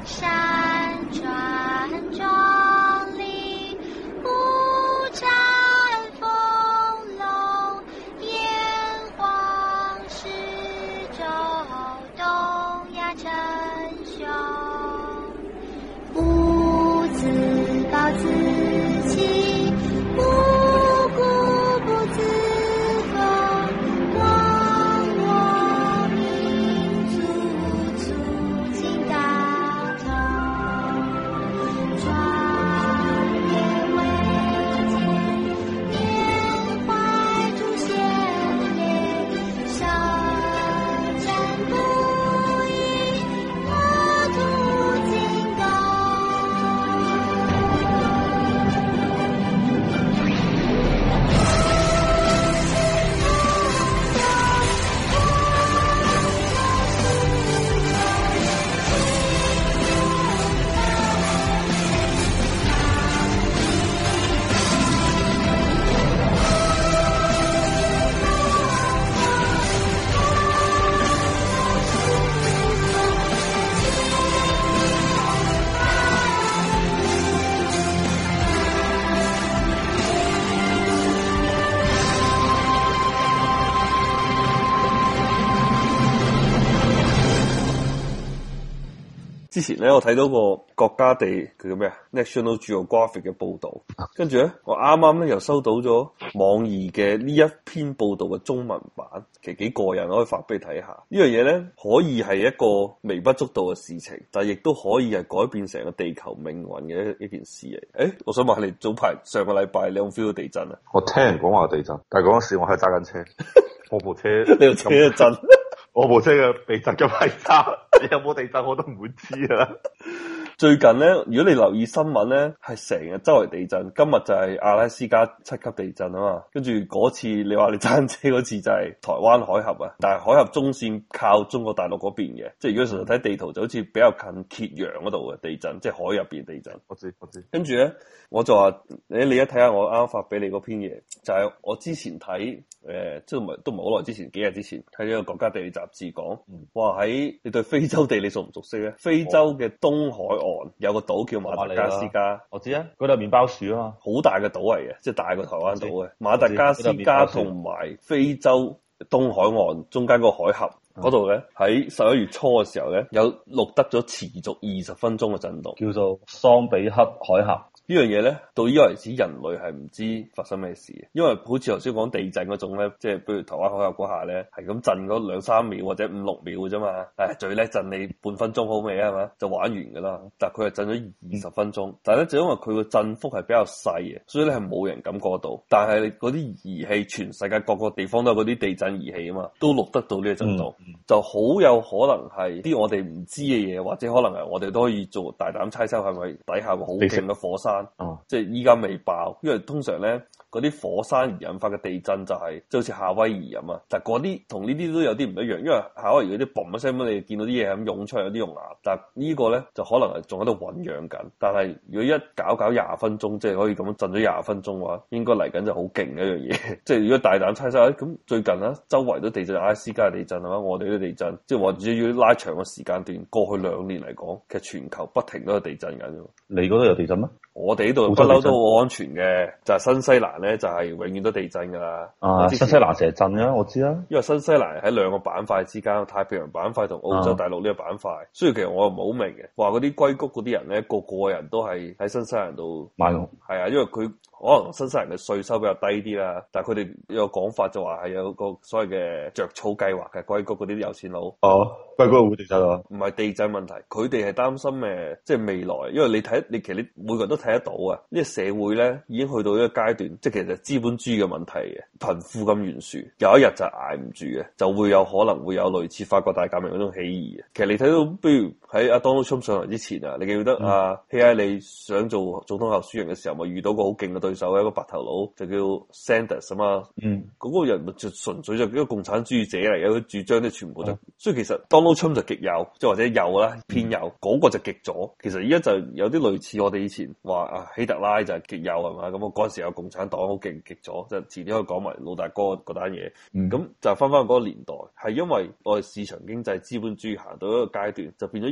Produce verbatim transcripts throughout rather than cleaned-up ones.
山川壮丽，五展丰隆，炎黄始周，东亚称雄。不自暴自弃，不固不自封，忘我民族，促进大同。壮烈伟健，缅怀祖先烈，舌战不已，国土精高。 之前咧，我睇到個國家地佢叫咩啊 National Geographic 嘅報導，跟住咧，我啱啱咧又收到咗網易嘅呢一篇報導嘅中文版，其實幾過癮，我可以發俾你睇下。呢樣嘢咧可以係一個微不足道嘅事情，但係亦都可以係改變成個地球命運嘅一一件事嚟。誒，我想問下你，早排上個禮拜你有冇 feel 到地震啊？ 我聽人講話地震，但係嗰陣時我係揸緊車，我部車你部車一震。 我部車嘅避震咁係差，你有冇地震我都唔會知啊！ 最近咧，如果你留意新聞咧，係成日周圍地震。今日就係阿拉斯加七級地震啊嘛，跟住嗰次你話你揸車嗰次就係台灣海峽啊，但係海峽中線靠中國大陸嗰邊嘅，即係如果純粹睇地圖就好似比較近揭陽嗰度嘅地震，即係海入邊地震。 我知我知。 跟住咧，我就話你你一睇下我啱啱發俾你嗰篇嘢，就係、是、我之前睇誒，即係唔係都唔係好耐之前，幾日之前睇呢個國家地理雜誌講，話喺你對非洲地理熟唔熟悉咧？非洲嘅東海岸有個島叫馬達加斯加， 我知啊，嗰度係麵包樹啊嘛， 好大嘅島嚟嘅，即係大過台灣島嘅。馬達加斯加同埋非洲東海岸中間個海峽嗰度咧，喺十一月初嘅時候咧，有錄得咗持續二十分鐘嘅震動， 叫做桑比克海峽。 呢樣嘢咧，到依家為止人類係唔知發生咩事嘅，因為好似頭先講地震嗰種咧，即係比如台灣海峽嗰下咧，係咁震嗰兩三秒或者五六秒嘅啫嘛，誒最叻震你半分鐘好未啊？係嘛，就玩完噶啦。但係佢係震咗二十分鐘，但係咧就因為佢個震幅係比較細嘅，所以咧係冇人感覺到。但係你嗰啲儀器，全世界各個地方都有嗰啲地震儀器啊嘛，都錄得到呢個震動，嗯嗯、就好有可能係啲我哋唔知嘅嘢，或者可能係我哋都可以做大膽猜測，係咪底下個好勁嘅火山？哦，即係依家未爆，因為通常咧嗰啲火山而引發嘅地震就係、是，即係好似夏威夷咁啊。但係嗰啲同呢啲都有啲唔一樣，因為夏威夷嗰啲嘣一聲咁，你見到啲嘢咁湧出嚟，有啲熔岩。但係呢個咧就可能係仲喺度醞釀緊。但係如果一搞搞廿分鐘，即係可以咁樣震咗廿分鐘嘅話，應該嚟緊就好勁嘅一樣嘢。即係如果大膽猜測，咁最近啊，周圍都地震，阿拉斯加地震係嘛，我哋都地震，即係或者要拉長個時間段，過去兩年嚟講，其實全球不停都有地震緊。 你嗰度有地震咩？ 我哋呢度不嬲都好安全嘅，就係、是、新西蘭咧就係、是、永遠都地震噶啦。 啊，新西蘭成日震啊，我知啊。 因為新西蘭喺兩個板塊之間，太平洋板塊同澳洲大陸呢個板塊，啊、所以其實我又唔係好明嘅。話嗰啲硅谷嗰啲人咧，個個人都係喺新西蘭度買屋。係啊，因為佢可能新西蘭嘅稅收比較低啲啦，但係佢哋有個講法就話係有個所謂嘅着草計劃嘅硅谷嗰啲有錢佬。 哦，硅谷會地震啊？ 唔係地震問題，佢哋係擔心誒，即係未來，因為你睇你其實你每個人都睇得到啊，呢、這個社會咧已經去到一個階段，即係其實資本主義嘅問題嘅，貧富咁懸殊，有一日就捱唔住嘅，就會有可能會有類似法國大革命嗰種起義嘅。其實你睇到，比如喺阿 Donald Trump 上台之前啊，你記唔記得阿希拉里想做總統候選人嘅時候，咪遇到個好勁嘅對手，一個白頭佬就叫 Sanders 啊嘛，嗯，嗰個人就純粹就一個共產主義者嚟嘅，佢主張啲全部就，嗯、所以其實 Donald Trump 就極右，即係或者右啦，偏右，嗰、嗯、個就極左。其實而家就有啲類似我哋以前話啊希特拉就係極右係嘛，咁我嗰陣時有共產黨好勁極左，就遲啲可以講埋老大哥嗰單嘢。咁、嗯、就翻翻嗰個年代，係因為我哋市場經濟資本主義行到一個階段，就變咗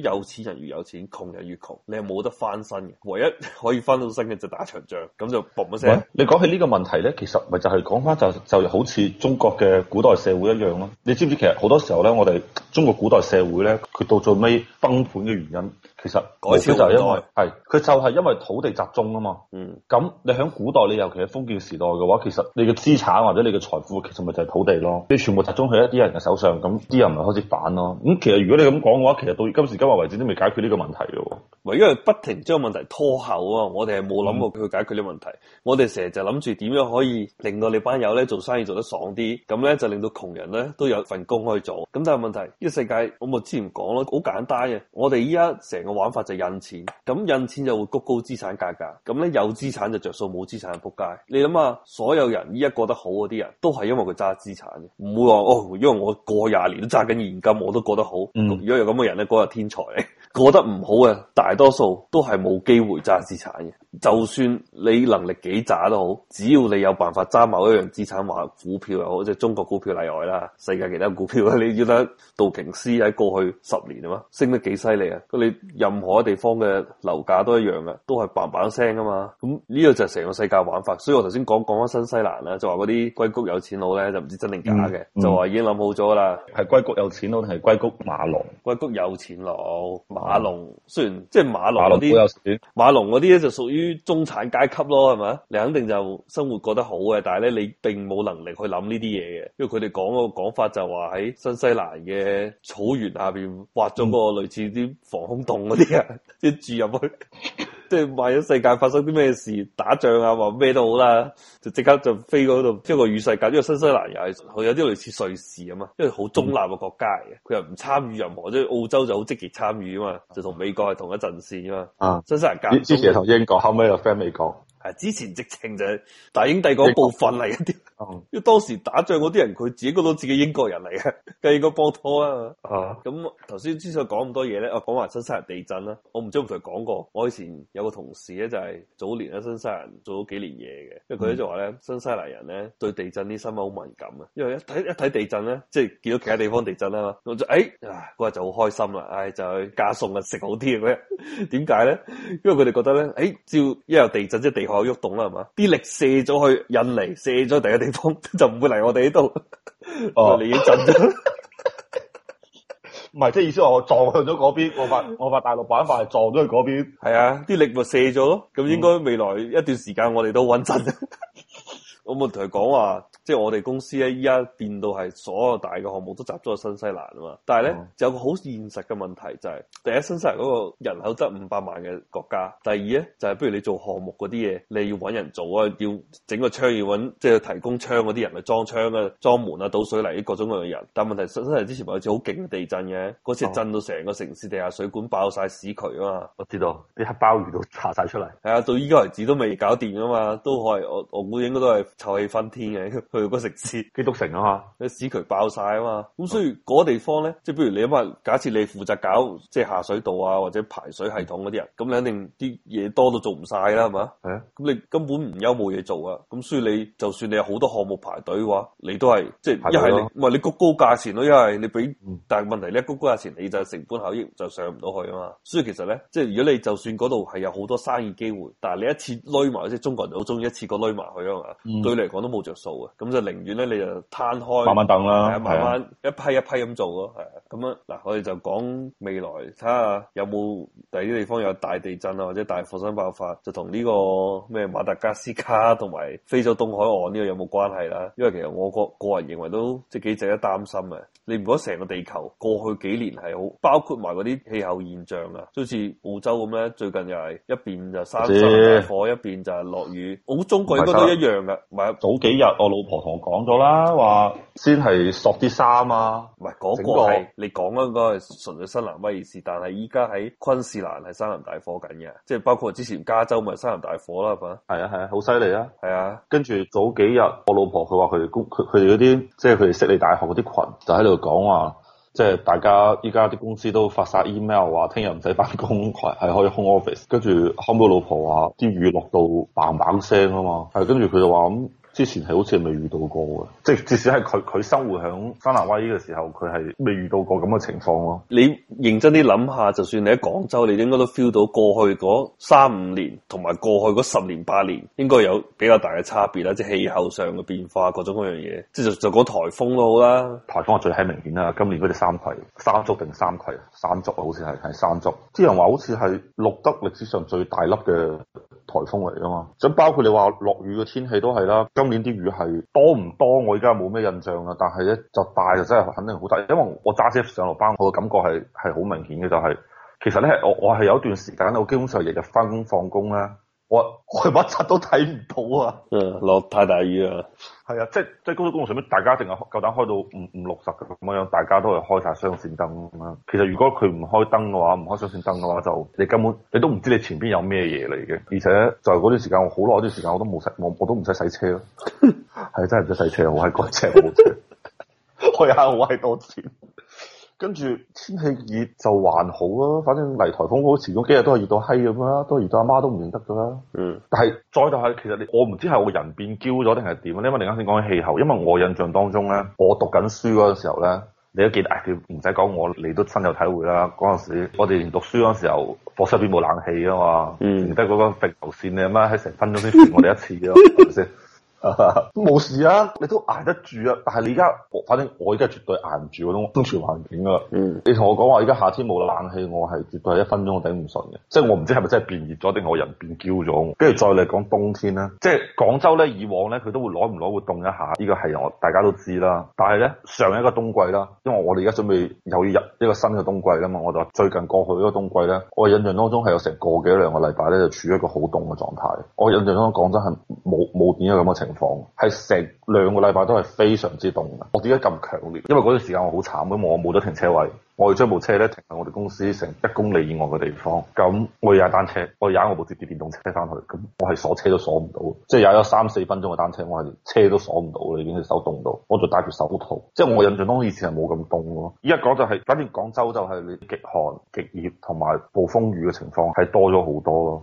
有錢人越有錢，窮人越窮，你係冇得翻身嘅。唯一可以翻到身嘅就打場仗，咁就嘣一聲。 你講起呢個問題咧，其實咪就係講翻就就好似中國嘅古代社會一樣咯。你知唔知其實好多時候咧，我哋中國古代社會咧，佢到最尾崩盤嘅原因，其實改朝就係因為係佢就係因為土地集中啊嘛。嗯。咁你喺古代，你尤其係封建時代嘅話，其實你嘅資產或者你嘅財富，其實咪就係土地咯。你全部集中喺一啲人嘅手上，咁啲人咪開始反咯。咁其實如果你咁講嘅話，其實到今時今日為止都未解決呢個問題嘅。 唯因為不停將問題拖後啊，我哋係冇諗過去解決呢個問題。嗯、我哋成日就諗住點樣可以令到你班友咧做生意做得爽啲，咁咧就令到窮人咧都有份工可以做。咁但係問題呢、這個世界，我咪之前講咯，好簡單嘅。我哋依家成個玩法就印錢，咁印錢就會谷高資產價格，咁咧有資產就着數，冇資產就仆街。你諗下，所有人依家過得好嗰啲人都係因為佢揸資產嘅，唔會話哦，因為我過廿年都揸緊現金，我都過得好。嗯、如果有咁嘅人咧，嗰、那個天才嚟。過得唔好嘅大多數都係冇機會揸資產嘅，就算你能力幾渣都好，只要你有辦法揸某一樣資產，話股票又好，即係中國股票例外啦，世界其他股票你要得道瓊斯喺過去十年啊嘛，升得幾犀利啊！咁你任何地方嘅樓價都一樣嘅，都係嘭嘭聲啊嘛。咁呢個就係成個世界玩法。所以我頭先講講翻新西蘭啦，就話嗰啲硅谷有錢佬咧就唔知真定假嘅，嗯嗯、就話已經諗好咗啦。係硅谷有錢佬定係硅谷馬龍？硅谷有錢佬。馬龍雖然即係馬龍嗰啲，馬龍嗰啲咧就屬於中產階級咯，係咪？你肯定就生活過得好嘅，但係咧你並冇能力去諗呢啲嘢嘅，因為佢哋講嗰個講法就話喺新西蘭嘅草原下邊挖咗個類似啲防空洞嗰啲啊，即係住入去。即係萬一世界發生啲咩事，打仗啊，或咩都好啦，就即刻就飛嗰度，即係個與世界。因為新西蘭又係佢有啲類似瑞士啊嘛，因為好中立嘅國家嚟嘅，佢又唔參與任何，即係澳洲就好積極參與啊嘛，就同美國係同一陣線啊嘛。啊，新西蘭隔之前同英國，後尾又飛美國。 係之前直情就係大英帝國部分嚟嘅啲，嗯、因為當時打仗嗰啲人佢自己覺得自己英國人嚟嘅，梗係應該幫拖啊。咁頭先之所以講咁多嘢咧，我講埋新西蘭地震啦。我唔知有冇同佢講過，我以前有個同事咧就係早年喺新西蘭做咗幾年嘢嘅，因為佢咧就話咧新西蘭人咧對地震啲新聞好敏感啊，因為一睇一睇地震咧，即係見到其他地方地震啦，我就誒嗰日就好開心啦，唉就去加餸啊食好啲嘅嗰日。點解咧？因為佢哋覺得咧，誒只要一有地震即係地殼喐動啦，係嘛？啲力射咗去印尼，射咗第一個地方，就唔會嚟我哋呢度。哦，你已經震咗。 唔係，即係意思話我撞向咗嗰邊，我發我發大陸板塊係撞咗去嗰邊。 係啊，啲力咪射咗咯。咁應該未來一段時間我哋都穩陣。我冇同佢講話，即係我哋公司咧，依家變到係所有大嘅項目都集中喺新西蘭啊嘛。但係咧，嗯、就有個好現實嘅問題就係、是，第一新西蘭嗰個人口得五百萬嘅國家，第二咧就係、是，不如你做項目嗰啲嘢，你要揾人做啊，要整個窗要揾，即係提供窗嗰啲人去裝窗啊、裝門啊、倒水泥各種各樣嘅人。但係問題新西蘭之前咪有次好勁嘅地震嘅，嗰次震到成個城市地下水管爆晒屎渠啊嘛。 我知道啲黑鮑魚都爬晒出嚟。 係啊，到依家為止都未搞掂啊嘛，都係我我估應該都係。臭氣熏天嘅，去個城市基督城啊嘛， 啲屎渠爆晒啊嘛，咁所以嗰地方咧，即係譬如你諗下，假設你負責搞即係下水道啊或者排水系統嗰啲人，咁你肯定啲嘢多到做唔晒啦，係嘛？係啊，咁你根本唔憂冇嘢做啊，咁所以你就算你有好多項目排隊嘅話，你都係即係一係你唔係你谷高價錢咯，一係你俾，嗯、但係問題咧谷高價錢你就成本效益就上唔到去啊嘛，所以其實咧，即係如果你就算嗰度係有好多生意機會，但係你一次攏埋，即係中國人好中意一次過攏埋去啊嘛。嗯對你嚟講都冇着數嘅，咁就寧願咧你就攤開， 慢慢等啦， 係慢慢一批一批咁做咯，係啊，咁樣嗱，我哋就講未來，睇下有冇第啲地方有大地震啊，或者大火山爆發，就同呢個咩馬達加斯加同埋非洲東海岸呢個有冇關係啦？因為其實我個個人認為都即係幾值得擔心嘅。你唔覺得成個地球過去幾年係好，包括埋嗰啲氣候現象啊，好似澳洲咁咧，最近又係一邊就山山大火，一邊就係落雨，我估中國應該都一樣噶。唔係早幾日我老婆同我講咗啦，話先係索啲衫啊， 唔係嗰個係你講嗰個係純粹新南威爾士，但係依家喺昆士蘭係山林大火緊嘅，即係包括之前加州咪山林大火啦，係嘛？ 係啊係啊，好犀利啊！係啊， 跟住早幾日我老婆佢話佢哋公佢佢哋嗰啲即係佢哋悉尼大學嗰啲群就喺度講話，即係大家依家啲公司都發晒 email 話聽日唔使翻工，係係可以 home office。跟住後尾我老婆話啲雨落到嘭嘭聲啊嘛，係跟住佢就話咁之前係好似係未遇到過嘅，即係至少係佢佢生活響山南威嘅時候，佢係未遇到過咁嘅情況咯。 你認真啲諗下，就算你喺廣州，你應該都 feel 到過去嗰三五年同埋過去嗰十年八年應該有比較大嘅差別啦，即係氣候上嘅變化，各種各樣嘢。即係就就講颱風都好啦， 颱風係最係明顯啦。今年嗰隻三葵、三竹定三葵、三竹啊，好似係係三竹。啲人話好似係錄得歷史上最大粒嘅颱風嚟㗎嘛。咁包括你話落雨嘅天氣都係啦。今年啲雨係多唔多？我而家冇咩印象啦。但係咧就大就真係肯定好大，因為我揸車上落班，我嘅感覺係係好明顯嘅，就係、是、其實咧我我係有一段時間我基本上日日翻工放工咧。我我乜柒都睇唔到啊！ 嗯，落太大雨啊！ 係啊，即係即係高速公路上面，大家一定係夠膽開到五五六十嘅咁樣，大家都係開晒雙線燈咁樣。其實如果佢唔開燈嘅話，唔開雙線燈嘅話，就你根本你都唔知你前邊有咩嘢嚟嘅。而且就係嗰段時間，我好耐嗰段時間我都冇洗，我我都唔使洗車咯。係真係唔使洗車，我係改車我冇車，我有好閪多錢。跟住天氣熱就還好啊，反正嚟颱風好前嗰幾日都係熱到閪咁啦，都熱到阿媽都唔認得噶啦。嗯，但係再就係其實你我唔知係我人變嬌咗定係點啊？因為你啱先講起氣候，因為我印象當中咧，我讀緊書嗰陣時候咧，你都記得，誒唔使講我，你都深有體會啦。嗰陣時我哋讀書嗰陣時候，課室入邊冇冷氣啊嘛，嗯，得嗰個壁流線你阿媽喺成分鐘先轉我哋一次咯，係咪先？都冇事啊，你都捱得住啊！但係你而家，反正我而家絕對捱唔住嗰種生存環境啊！嗯，你同我講話而家夏天冇冷氣，我係絕對係一分鐘都頂唔順嘅。即係我唔知係咪真係變熱咗，定係我人變嬌咗。跟住再嚟講冬天咧，即係廣州咧，以往咧佢都會攞唔攞會凍一下，呢個係我大家都知啦。但係咧上一個冬季啦，因為我哋而家準備又要入一個新嘅冬季啦嘛，我就最近過去嗰個冬季咧，我印象當中係有成個幾兩個禮拜咧就處於一個好凍嘅狀態。我印象當中廣州係冇冇點樣咁嘅情況。係成兩個禮拜都係非常之凍嘅，我點解咁強烈？因為嗰段時間我好慘，咁我冇咗停車位，我要將部車咧停喺我哋公司成一公里以外嘅地方。咁我要踩單車，我踩我部折疊電動車翻去，咁我係鎖車都鎖唔到，即係踩咗三四分鐘嘅單車，我係車都鎖唔到啦，已經係手凍到，我就戴住手套。即係我印象當中以前係冇咁凍咯。依家講就係、是，反正廣州就係你極寒、極熱同埋暴風雨嘅情況係多咗好多咯。